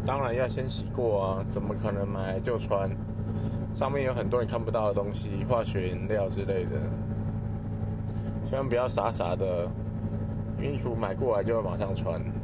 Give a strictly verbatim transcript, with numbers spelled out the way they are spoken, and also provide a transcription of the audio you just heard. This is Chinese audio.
当然要先洗过啊，怎么可能买来就穿？上面有很多你看不到的东西，化学颜料之类的，千万不要傻傻的衣服买过来就马上穿。